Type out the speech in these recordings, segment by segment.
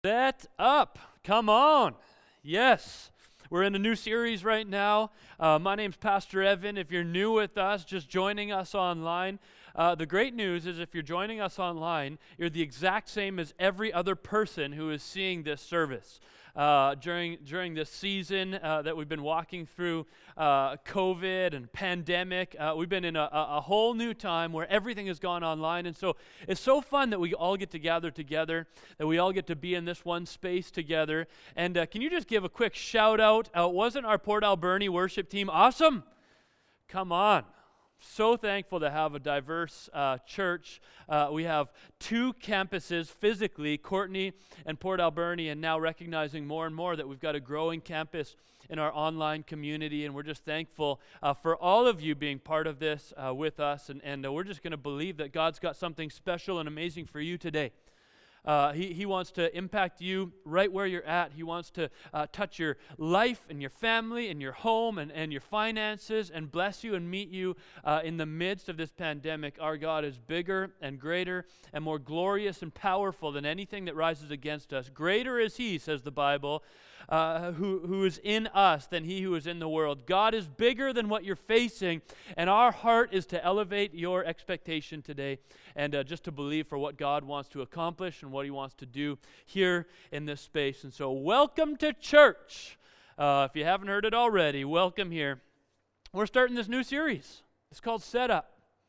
Set up. Come on. Yes. We're in a new series right now. My name's Pastor Evan. If you're new with us, just joining us online, the great news is if you're joining us online, you're the exact same as every other person who is seeing this service. During this season that we've been walking through COVID and pandemic, we've been in a whole new time where everything has gone online, and so it's so fun that we all get to gather together, that we all get to be in this one space together. And can you just give a quick shout out? Wasn't our Port Alberni worship team awesome? Come on. So thankful to have a diverse church. We have two campuses physically, Courtenay and Port Alberni, and now recognizing more and more that we've got a growing campus in our online community, and we're just thankful for all of you being part of this with us, and we're just going to believe that God's got something special and amazing for you today. He wants to impact you right where you're at. He wants to touch your life and your family and your home and your finances and bless you and meet you in the midst of this pandemic. Our God is bigger and greater and more glorious and powerful than anything that rises against us. Greater is He, says the Bible, who is in us than he who is in the world. God is bigger than what you're facing, and our heart is to elevate your expectation today and just to believe for what God wants to accomplish and what He wants to do here in this space. And so welcome to church. If you haven't heard it already, welcome here. We're starting this new series. It's called Set Up.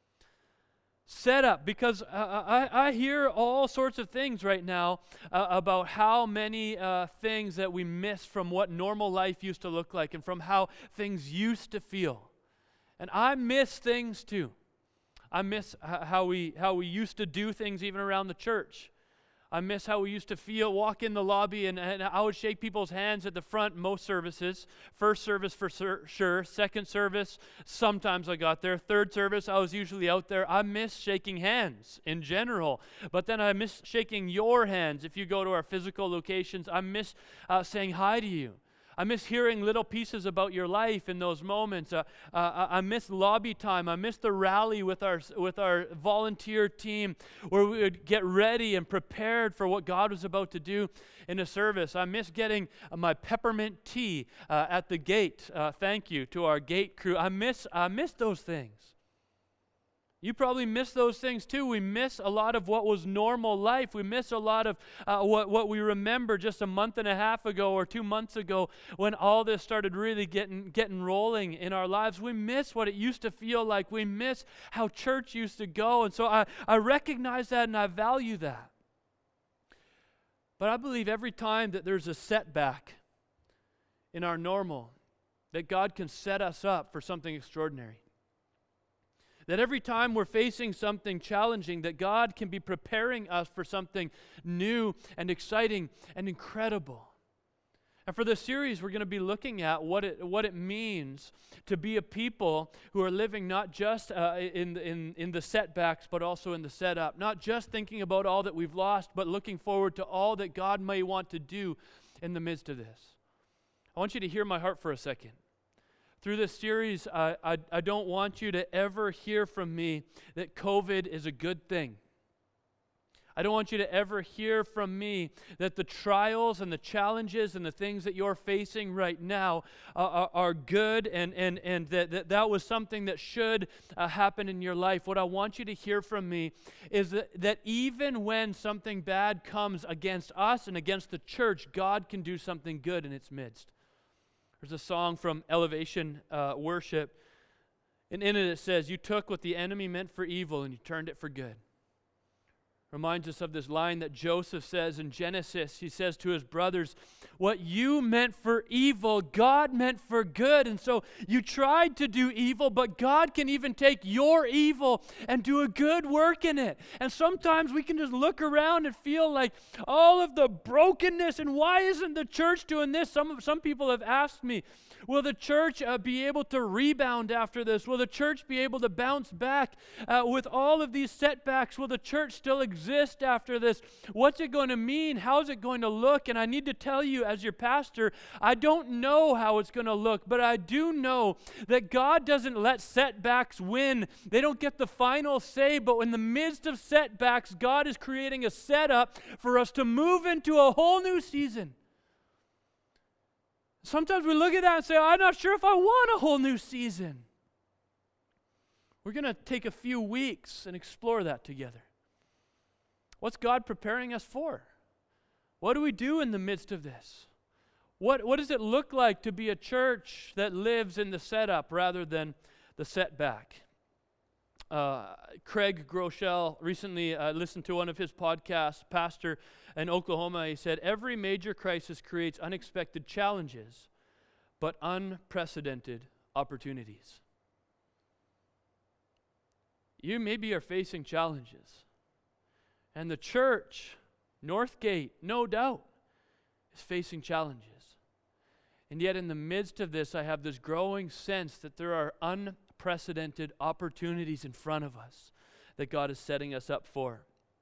Set up, because I hear all sorts of things right now about how many things that we miss from what normal life used to look like and from how things used to feel. And I miss things too. I miss how we used to do things even around the church. I miss how we used to walk in the lobby, and I would shake people's hands at the front most services. First service for sure. Second service, sometimes I got there. Third service, I was usually out there. I miss shaking hands in general. But then I miss shaking your hands. If you go to our physical locations, I miss saying hi to you. I miss hearing little pieces about your life in those moments. I miss lobby time. I miss the rally with our volunteer team where we would get ready and prepared for what God was about to do in a service. I miss getting my peppermint tea at the gate. Thank you to our gate crew. I miss those things. You probably miss those things too. We miss a lot of what was normal life. We miss a lot of what we remember just a month and a half ago or 2 months ago when all this started really getting rolling in our lives. We miss what it used to feel like. We miss how church used to go. And so I recognize that and I value that. But I believe every time that there's a setback in our normal, that God can set us up for something extraordinary. That every time we're facing something challenging, that God can be preparing us for something new and exciting and incredible. And for this series, we're going to be looking at what it means to be a people who are living not just in the setbacks, but also in the setup. Not just thinking about all that we've lost, but looking forward to all that God may want to do in the midst of this. I want you to hear my heart for a second. Through this series, I don't want you to ever hear from me that COVID is a good thing. I don't want you to ever hear from me that the trials and the challenges and the things that you're facing right now are good and that was something that should happen in your life. What I want you to hear from me is that even when something bad comes against us and against the church, God can do something good in its midst. There's a song from Elevation Worship, and in it says, "You took what the enemy meant for evil and you turned it for good." Reminds us of this line that Joseph says in Genesis. He says to his brothers, "What you meant for evil, God meant for good." And so you tried to do evil, but God can even take your evil and do a good work in it. And sometimes we can just look around and feel like all of the brokenness, and why isn't the church doing this? Some people have asked me, will the church be able to rebound after this? Will the church be able to bounce back with all of these setbacks? Will the church still exist exist after this? What's it going to mean? How's it going to look? And I need to tell you, as your pastor, I don't know how it's going to look, but I do know that God doesn't let setbacks win. They don't get the final say, but in the midst of setbacks, God is creating a setup for us to move into a whole new season. Sometimes we look at that and say, I'm not sure if I want a whole new season. We're going to take a few weeks and explore that together. What's God preparing us for? What do we do in the midst of this? What does it look like to be a church that lives in the setup rather than the setback? Craig Groeschel, recently listened to one of his podcasts, pastor in Oklahoma. He said, every major crisis creates unexpected challenges, but unprecedented opportunities. You maybe are facing challenges. And the church, Northgate, no doubt, is facing challenges. And yet in the midst of this, I have this growing sense that there are unprecedented opportunities in front of us that God is setting us up for.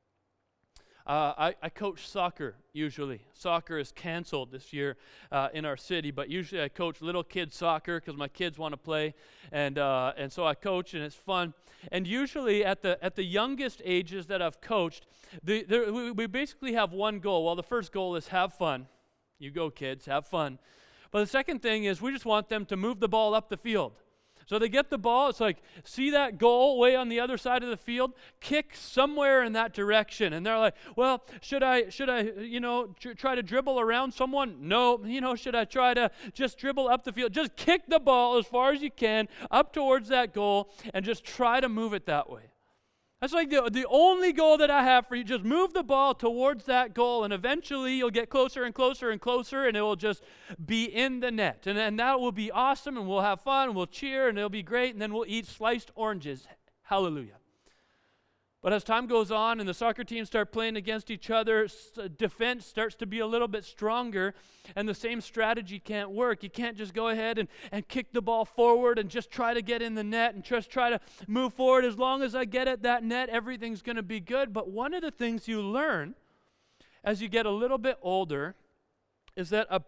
I coach soccer usually. Soccer is canceled this year in our city, but usually I coach little kids soccer because my kids want to play, and so I coach and it's fun. And usually at the youngest ages that I've coached, we basically have one goal. Well, the first goal is have fun. You go, kids, have fun. But the second thing is we just want them to move the ball up the field. So they get the ball, it's like, see that goal way on the other side of the field? Kick somewhere in that direction. And they're like, well, should I try to dribble around someone? No. Should I try to just dribble up the field? Just kick the ball as far as you can up towards that goal and just try to move it that way. That's like the only goal that I have for you. Just move the ball towards that goal, and eventually you'll get closer and closer and closer, and it will just be in the net. And that will be awesome, and we'll have fun, and we'll cheer, and it'll be great, and then we'll eat sliced oranges. Hallelujah. But as time goes on and the soccer teams start playing against each other, defense starts to be a little bit stronger, and the same strategy can't work. You can't just go ahead and kick the ball forward and just try to get in the net and just try to move forward. As long as I get at that net, everything's going to be good. But one of the things you learn as you get a little bit older is that a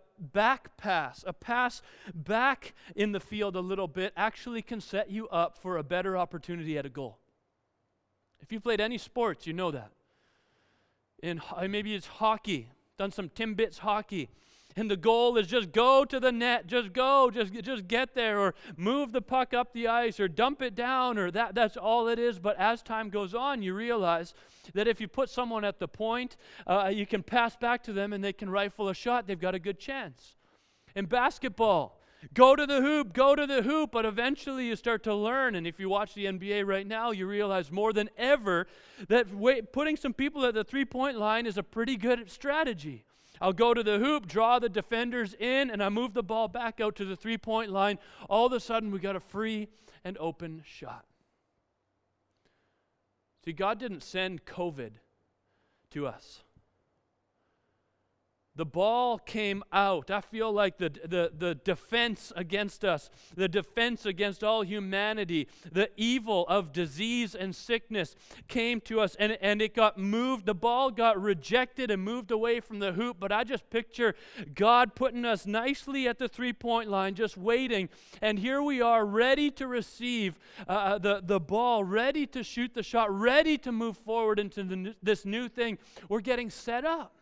pass back in the field a little bit actually can set you up for a better opportunity at a goal. If you played any sports, you know that. Maybe it's hockey, done some Timbits hockey, and the goal is just go to the net, just get there, or move the puck up the ice, or dump it down, or that's all it is. But as time goes on, you realize that if you put someone at the point, you can pass back to them and they can rifle a shot. They've got a good chance. In basketball, go to the hoop, but eventually you start to learn, and if you watch the NBA right now, you realize more than ever that putting some people at the three-point line is a pretty good strategy. I'll go to the hoop, draw the defenders in, and I move the ball back out to the three-point line. All of a sudden, we got a free and open shot. See, God didn't send COVID to us. The ball came out. I feel like the defense against us, the defense against all humanity, the evil of disease and sickness came to us, and it got moved. The ball got rejected and moved away from the hoop, but I just picture God putting us nicely at the three-point line, just waiting, and here we are ready to receive the ball, ready to shoot the shot, ready to move forward into this new thing. We're getting set up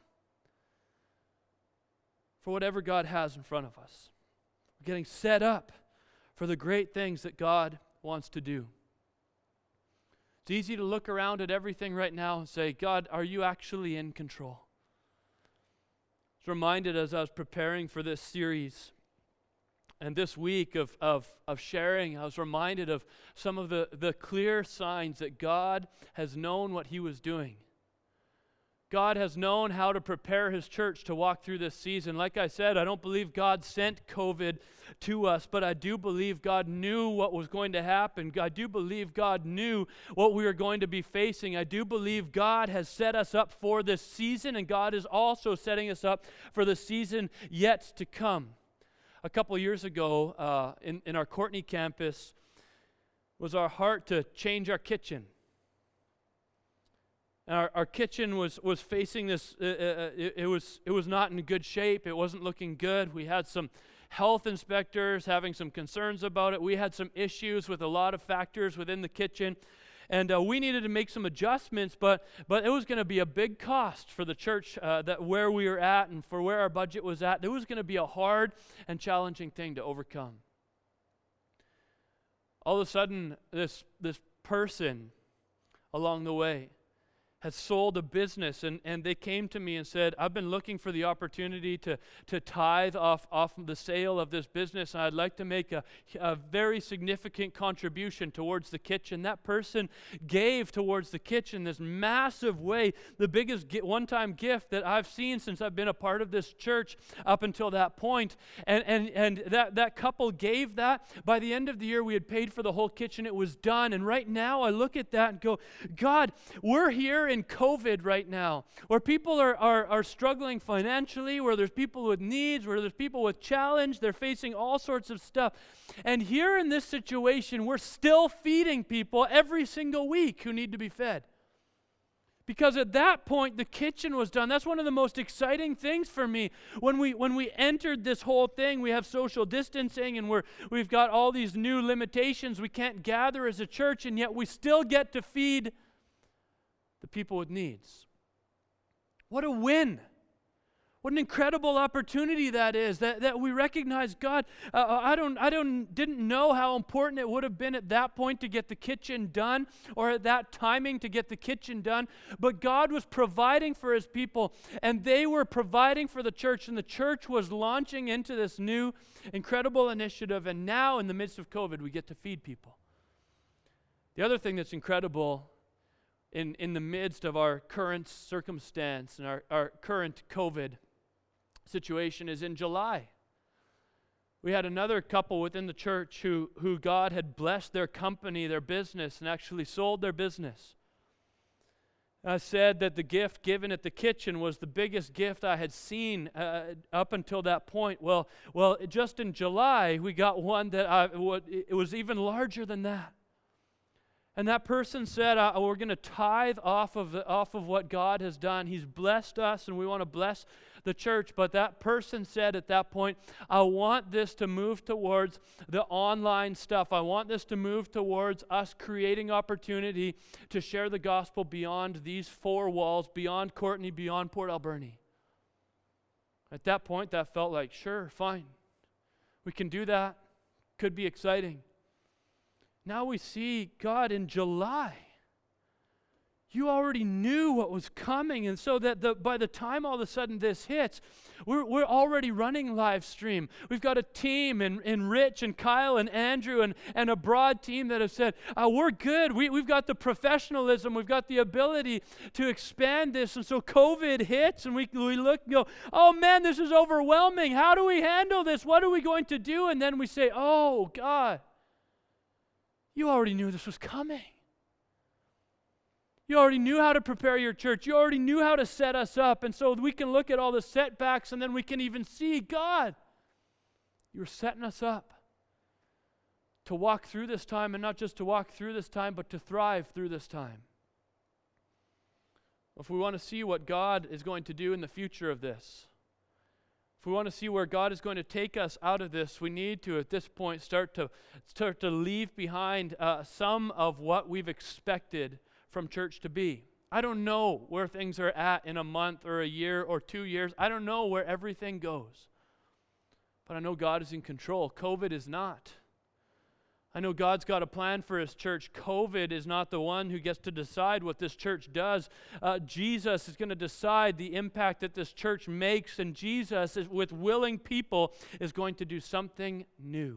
for whatever God has in front of us. We're getting set up for the great things that God wants to do. It's easy to look around at everything right now and say, God, are you actually in control? I was reminded as I was preparing for this series and this week of sharing, I was reminded of some of the clear signs that God has known what He was doing. God has known how to prepare His church to walk through this season. Like I said, I don't believe God sent COVID to us, but I do believe God knew what was going to happen. I do believe God knew what we were going to be facing. I do believe God has set us up for this season, and God is also setting us up for the season yet to come. A couple years ago, in our Courtney campus, was our heart to change our kitchen. And our kitchen was facing this, it was not in good shape. It wasn't looking good. We had some health inspectors having some concerns about it. We had some issues with a lot of factors within the kitchen. And we needed to make some adjustments, but it was going to be a big cost for the church that where we were at and for where our budget was at. It was going to be a hard and challenging thing to overcome. All of a sudden, this person along the way had sold a business, and they came to me and said, I've been looking for the opportunity to tithe off of the sale of this business, and I'd like to make a very significant contribution towards the kitchen. That person gave towards the kitchen this massive way, the biggest one-time gift that I've seen since I've been a part of this church up until that point. And that couple gave that. By the end of the year, we had paid for the whole kitchen. It was done. And right now, I look at that and go, God, we're here in COVID right now, where people are struggling financially, where there's people with needs, where there's people with challenge, they're facing all sorts of stuff. And here in this situation, we're still feeding people every single week who need to be fed. Because at that point, the kitchen was done. That's one of the most exciting things for me. When we entered this whole thing, we have social distancing, and we've got all these new limitations. We can't gather as a church, and yet we still get to feed the people with needs. What a win. What an incredible opportunity that is, that we recognize God. I didn't know how important it would have been at that point to get the kitchen done, or at that timing to get the kitchen done, but God was providing for His people, and they were providing for the church, and the church was launching into this new incredible initiative, and now in the midst of COVID, we get to feed people. The other thing that's incredible in the midst of our current circumstance and our current COVID situation is in July. We had another couple within the church who God had blessed their company, their business, and actually sold their business. I said that the gift given at the kitchen was the biggest gift I had seen up until that point. Well, just in July, we got one that it was even larger than that. And that person said, we're going to tithe off of what God has done. He's blessed us, and we want to bless the church. But that person said at that point, I want this to move towards the online stuff. I want this to move towards us creating opportunity to share the gospel beyond these four walls, beyond Courtenay, beyond Port Alberni. At that point, that felt like, sure, fine. We can do that. Could be exciting. Now we see God in July. You already knew what was coming, and so that by the time all of a sudden this hits, we're already running live stream. We've got a team in Rich and Kyle and Andrew and a broad team that have said, we're good. We've got the professionalism. We've got the ability to expand this. And so COVID hits, and we look and go, oh man, this is overwhelming. How do we handle this? What are we going to do? And then we say, oh God, you already knew this was coming. You already knew how to prepare your church. You already knew how to set us up. And so we can look at all the setbacks, and then we can even see, God, you're setting us up to walk through this time, and not just to walk through this time, but to thrive through this time. If we want to see what God is going to do in the future of this, if we want to see where God is going to take us out of this, we need to, at this point, start to leave behind some of what we've expected from church to be. I don't know where things are at in a month or a year or 2 years. I don't know where everything goes. But I know God is in control. COVID is not. I know God's got a plan for His church. COVID is not the one who gets to decide what this church does. Jesus is going to decide the impact that this church makes, and Jesus, with willing people, is going to do something new.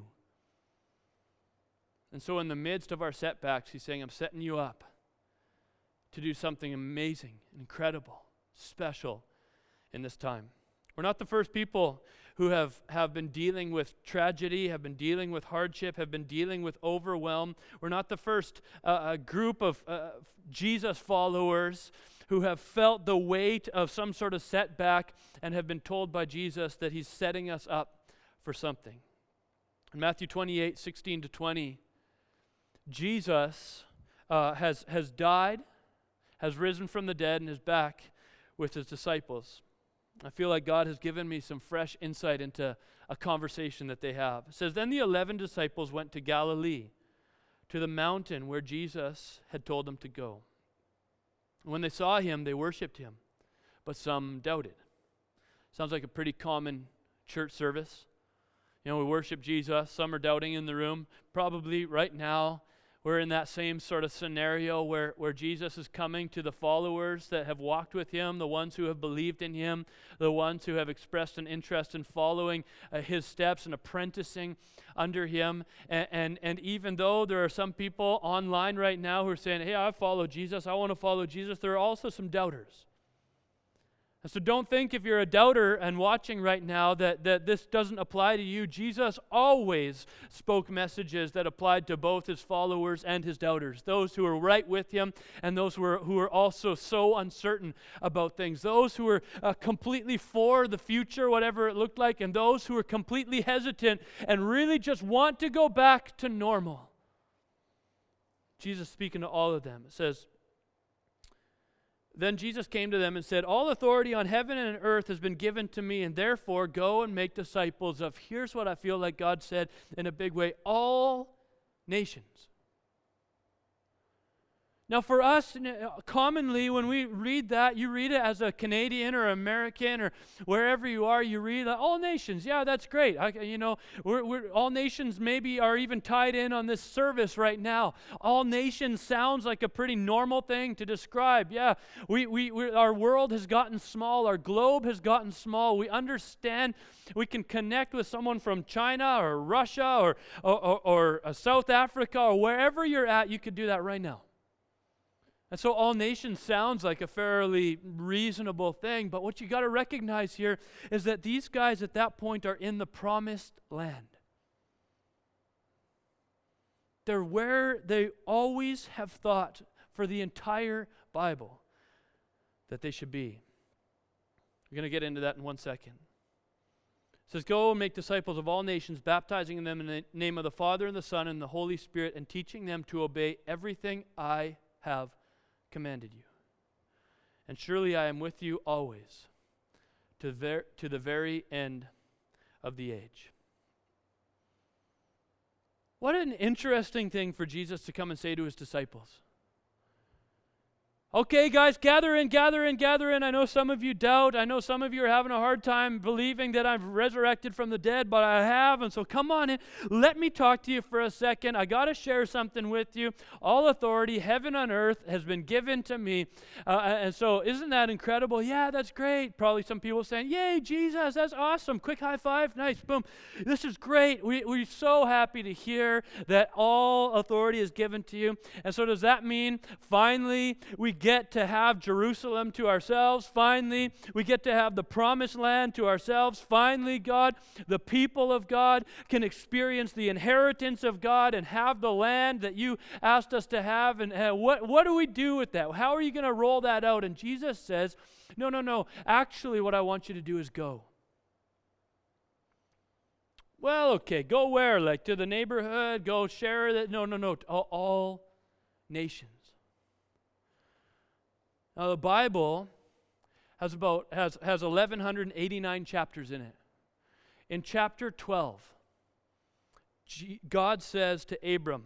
And so in the midst of our setbacks, He's saying, I'm setting you up to do something amazing, incredible, special in this time. We're not the first people who have been dealing with tragedy, have been dealing with hardship, have been dealing with overwhelm. We're not the first group of Jesus followers who have felt the weight of some sort of setback and have been told by Jesus that He's setting us up for something. In Matthew 28, 16 to 20, Jesus has died, has risen from the dead and is back with his disciples. I feel like God has given me some fresh insight into a conversation that they have. It says, then the 11 disciples went to Galilee, to the mountain where Jesus had told them to go. When they saw him, they worshiped him, but some doubted. Sounds like a pretty common church service. We worship Jesus. Some are doubting in the room. Probably right now, we're in that same sort of scenario where Jesus is coming to the followers that have walked with him, the ones who have believed in him, the ones who have expressed an interest in following his steps and apprenticing under him. And even though there are some people online right now who are saying, hey, I follow Jesus, I want to follow Jesus, there are also some doubters. And so don't think if you're a doubter and watching right now that this doesn't apply to you. Jesus always spoke messages that applied to both his followers and his doubters, those who were right with him and those who were also so uncertain about things, those who were completely for the future, whatever it looked like, and those who were completely hesitant and really just want to go back to normal. Jesus speaking to all of them. It says, then Jesus came to them and said, all authority on heaven and on earth has been given to me, and therefore go and make disciples of, here's what I feel like God said in a big way, all nations. Now for us, commonly when we read that, you read it as a Canadian or American or wherever you are, you read all nations. Yeah, that's great. We're all nations maybe are even tied in on this service right now. All nations sounds like a pretty normal thing to describe. Yeah, our world has gotten small. Our globe has gotten small. We understand we can connect with someone from China or Russia or South Africa or wherever you're at. You could do that right now. And so all nations sounds like a fairly reasonable thing, but what you got to recognize here is that these guys at that point are in the promised land. They're where they always have thought for the entire Bible that they should be. We're going to get into that in 1 second. It says, go and make disciples of all nations, baptizing them in the name of the Father and the Son and the Holy Spirit, and teaching them to obey everything I have commanded you. And surely I am with you always, to the very end of the age. What an interesting thing for Jesus to come and say to his disciples. Okay, guys, gather in. I know some of you doubt. I know some of you are having a hard time believing that I've resurrected from the dead, but I have. And so come on in. Let me talk to you for a second. I got to share something with you. All authority, heaven and earth, has been given to me. And so isn't that incredible? Yeah, that's great. Probably some people saying, yay, Jesus, that's awesome. Quick high five. Nice. Boom. This is great. We're so happy to hear that all authority is given to you. And so does that mean finally we get to have Jerusalem to ourselves? Finally, we get to have the promised land to ourselves. Finally, God, the people of God can experience the inheritance of God and have the land that you asked us to have. And what do we do with that? How are you going to roll that out? And Jesus says, no. Actually, what I want you to do is go. Well, okay, go where? Like to the neighborhood? Go share that? No. All nations. Now the Bible has 1,189 chapters in it. In chapter 12, God says to Abram,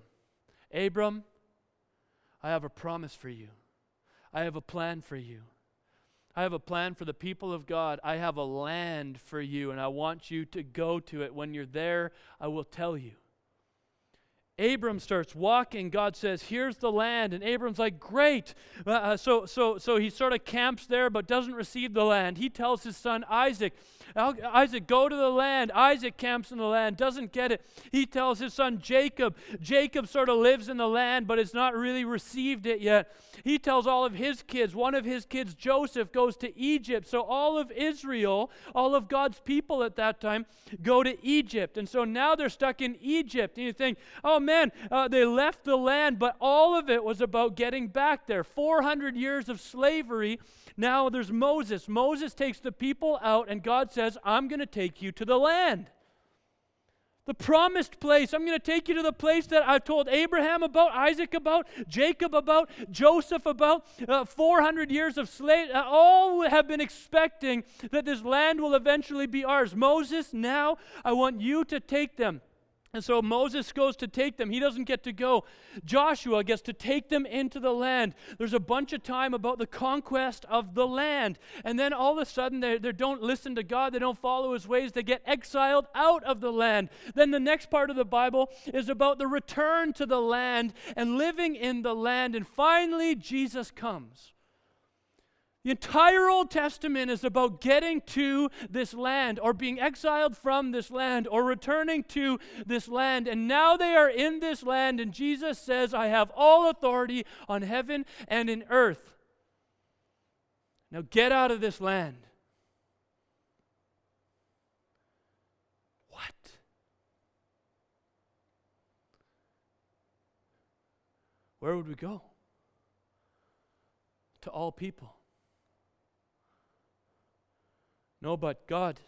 I have a promise for you. I have a plan for you. I have a plan for the people of God. I have a land for you, and I want you to go to it. When you're there, I will tell you. Abram starts walking. God says, here's the land. And Abram's like, great. So he sort of camps there but doesn't receive the land. He tells his son Isaac, go to the land. Isaac camps in the land, doesn't get it. He tells his son Jacob. Jacob sort of lives in the land but has not really received it yet. He tells all of his kids. One of his kids, Joseph, goes to Egypt. So all of Israel, all of God's people at that time, go to Egypt. And so now they're stuck in Egypt. And you think, oh man, they left the land, but all of it was about getting back there. 400 years of slavery. Now there's Moses. Moses takes the people out, and God says, I'm going to take you to the land. The promised place. I'm going to take you to the place that I've told Abraham about, Isaac about, Jacob about, Joseph about, 400 years of slavery. All have been expecting that this land will eventually be ours. Moses, now I want you to take them. And so Moses goes to take them. He doesn't get to go. Joshua gets to take them into the land. There's a bunch of time about the conquest of the land. And then all of a sudden they don't listen to God. They don't follow his ways. They get exiled out of the land. Then the next part of the Bible is about the return to the land and living in the land. And finally Jesus comes. The entire Old Testament is about getting to this land or being exiled from this land or returning to this land. And now they are in this land, and Jesus says, I have all authority on heaven and in earth. Now get out of this land. What? Where would we go? To all people. No, but God,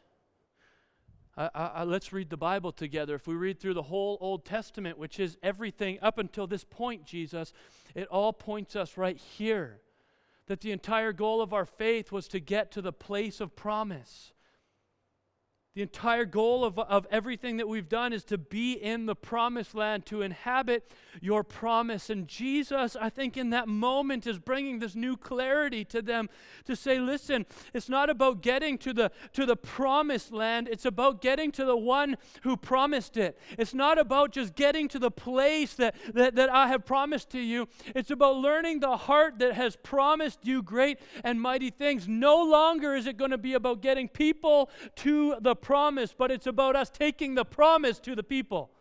let's read the Bible together. If we read through the whole Old Testament, which is everything up until this point, Jesus, it all points us right here. That the entire goal of our faith was to get to the place of promise. The entire goal of everything that we've done is to be in the promised land, to inhabit your promise. And Jesus, I think in that moment, is bringing this new clarity to them to say, listen, it's not about getting to the promised land. It's about getting to the one who promised it. It's not about just getting to the place that I have promised to you. It's about learning the heart that has promised you great and mighty things. No longer is it going to be about getting people to the promise, but it's about us taking the promise to the people.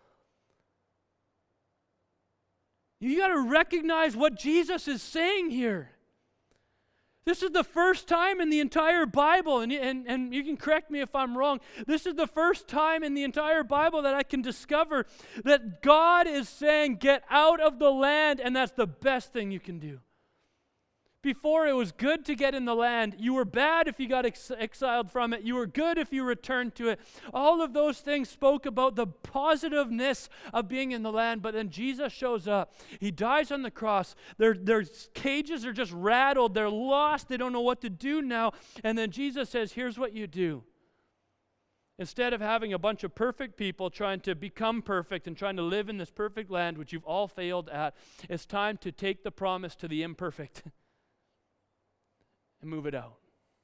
You got to recognize what Jesus is saying here. This is the first time in the entire Bible, and you can correct me if I'm wrong, this is the first time in the entire Bible that I can discover that God is saying, get out of the land, and that's the best thing you can do. Before, it was good to get in the land. You were bad if you got exiled from it. You were good if you returned to it. All of those things spoke about the positiveness of being in the land. But then Jesus shows up. He dies on the cross. Their cages are just rattled. They're lost. They don't know what to do now. And then Jesus says, here's what you do. Instead of having a bunch of perfect people trying to become perfect and trying to live in this perfect land, which you've all failed at, it's time to take the promise to the imperfect. And move it out.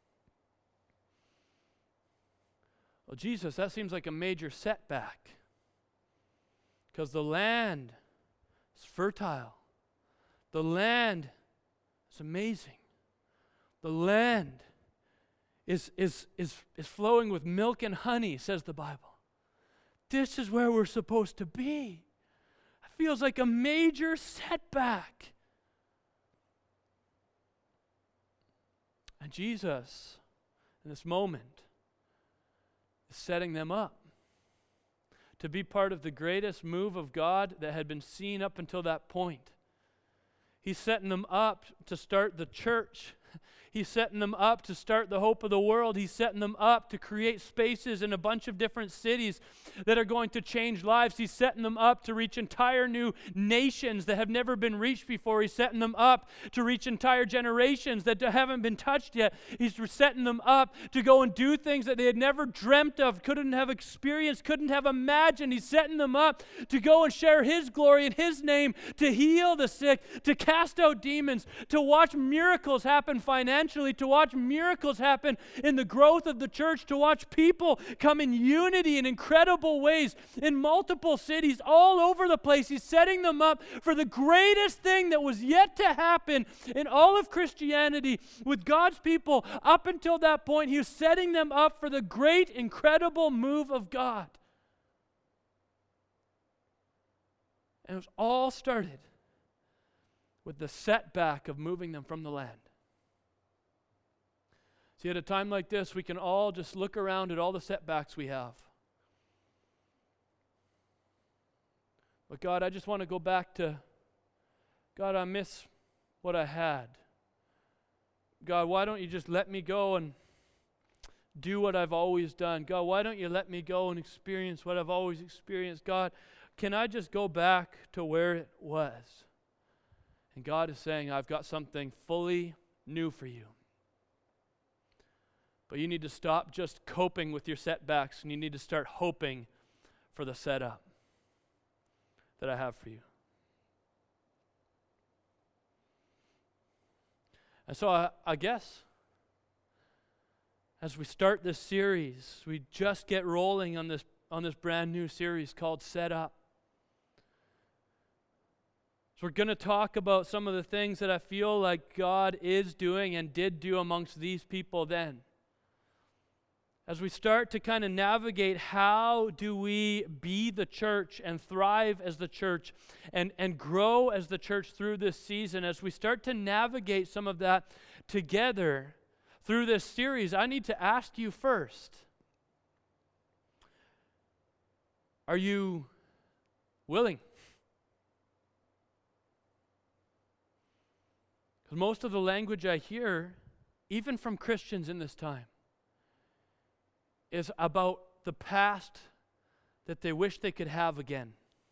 Well, Jesus, that seems like a major setback. Because the land is fertile. The land is amazing. The land is flowing with milk and honey, says the Bible. This is where we're supposed to be. It feels like a major setback. And Jesus, in this moment, is setting them up to be part of the greatest move of God that had been seen up until that point. He's setting them up to start the church. He's setting them up to start the hope of the world. He's setting them up to create spaces in a bunch of different cities that are going to change lives. He's setting them up to reach entire new nations that have never been reached before. He's setting them up to reach entire generations that haven't been touched yet. He's setting them up to go and do things that they had never dreamt of, couldn't have experienced, couldn't have imagined. He's setting them up to go and share His glory in His name, to heal the sick, to cast out demons, to watch miracles happen financially, to watch miracles happen in the growth of the church, to watch people come in unity in incredible ways in multiple cities all over the place. He's setting them up for the greatest thing that was yet to happen in all of Christianity with God's people. Up until that point, He was setting them up for the great, incredible move of God. And it was all started with the setback of moving them from the land. See, at a time like this, we can all just look around at all the setbacks we have. But God, I just want to go back to, God, I miss what I had. God, why don't you just let me go and do what I've always done? God, why don't you let me go and experience what I've always experienced? God, can I just go back to where it was? And God is saying, I've got something fully new for you. But you need to stop just coping with your setbacks, and you need to start hoping for the setup that I have for you. And so I guess as we start this series, we just get rolling on this brand new series called Set Up. So we're going to talk about some of the things that I feel like God is doing and did do amongst these people then. As we start to kind of navigate how do we be the church and thrive as the church and grow as the church through this season, as we start to navigate some of that together through this series, I need to ask you first, are you willing? Because most of the language I hear, even from Christians in this time, is about the past that they wish they could have again.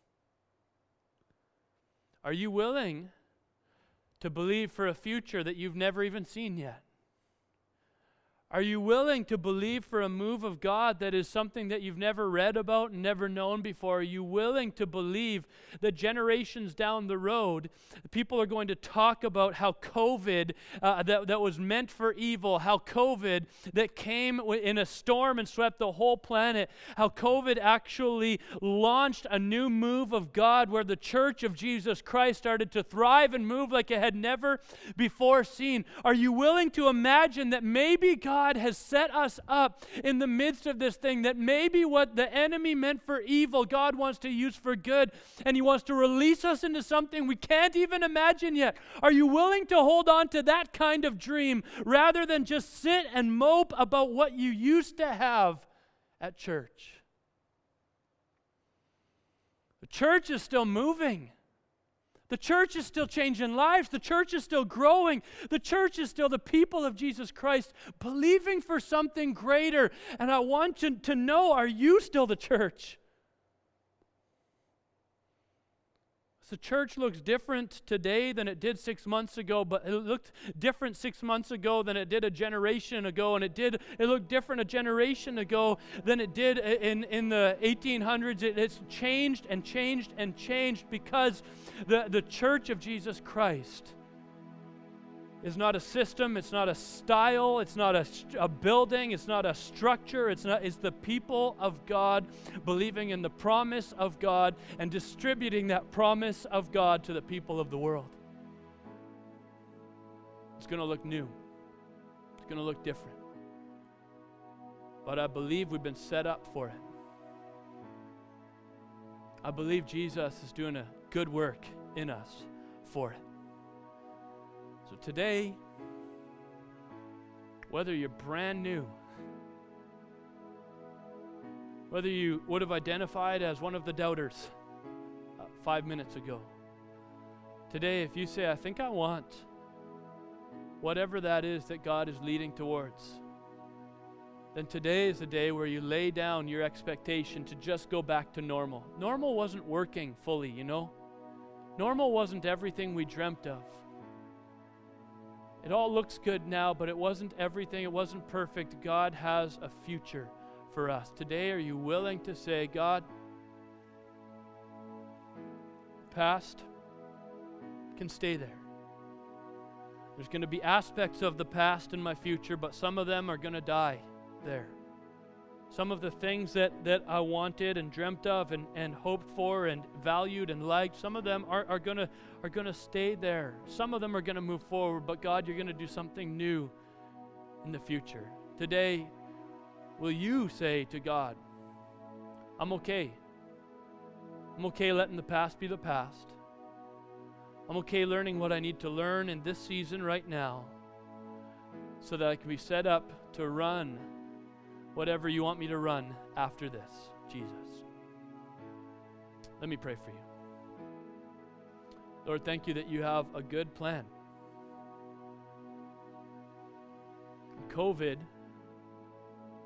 Are you willing to believe for a future that you've never even seen yet? Are you willing to believe for a move of God that is something that you've never read about and never known before? Are you willing to believe that generations down the road, people are going to talk about how COVID that was meant for evil, how COVID that came in a storm and swept the whole planet, how COVID actually launched a new move of God where the church of Jesus Christ started to thrive and move like it had never before seen? Are you willing to imagine that maybe God has set us up in the midst of this thing, that maybe what the enemy meant for evil, God wants to use for good, and He wants to release us into something we can't even imagine yet? Are you willing to hold on to that kind of dream rather than just sit and mope about what you used to have at church? The church is still moving. The church is still changing lives. The church is still growing. The church is still the people of Jesus Christ believing for something greater. And I want you to know, are you still the church? The church looks different today than it did 6 months ago, but it looked different 6 months ago than it did a generation ago, and it looked different a generation ago than it did in the 1800s. It's changed and changed and changed because the church of Jesus Christ is not a system, it's not a style, it's not a building, it's not a structure, it's the people of God believing in the promise of God and distributing that promise of God to the people of the world. It's going to look new. It's going to look different. But I believe we've been set up for it. I believe Jesus is doing a good work in us for it. So today, whether you're brand new, whether you would have identified as one of the doubters 5 minutes ago, today if you say, I think I want whatever that is that God is leading towards, then today is the day where you lay down your expectation to just go back to normal. Normal wasn't working fully, you know. Normal wasn't everything we dreamt of. It all looks good now, but it wasn't everything. It wasn't perfect. God has a future for us. Today, are you willing to say, God, past can stay there. There's going to be aspects of the past in my future, but some of them are going to die there. Some of the things that I wanted and dreamt of and hoped for and valued and liked, some of them are going to stay there. Some of them are going to move forward, but God, you're going to do something new in the future. Today, will you say to God, I'm okay. I'm okay letting the past be the past. I'm okay learning what I need to learn in this season right now so that I can be set up to run whatever you want me to run after this, Jesus. Let me pray for you. Lord, thank you that you have a good plan. COVID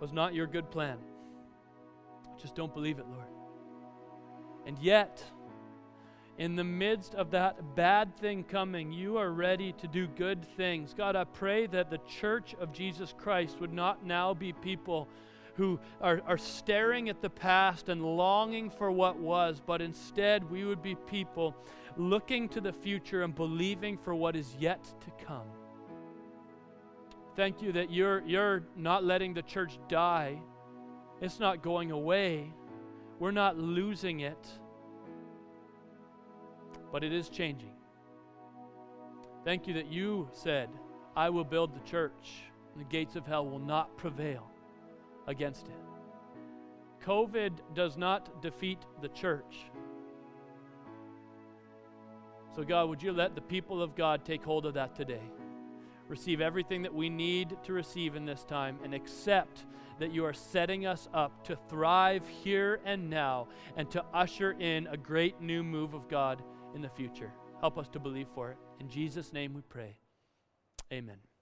was not your good plan. I just don't believe it, Lord. And yet, in the midst of that bad thing coming, you are ready to do good things. God, I pray that the church of Jesus Christ would not now be people who are staring at the past and longing for what was, but instead we would be people looking to the future and believing for what is yet to come. Thank you that you're not letting the church die. It's not going away. We're not losing it. But it is changing. Thank you that you said, I will build the church, and the gates of hell will not prevail against it. COVID does not defeat the church. So God, would you let the people of God take hold of that today? Receive everything that we need to receive in this time, and accept that you are setting us up to thrive here and now and to usher in a great new move of God in the future. Help us to believe for it. In Jesus' name we pray. Amen.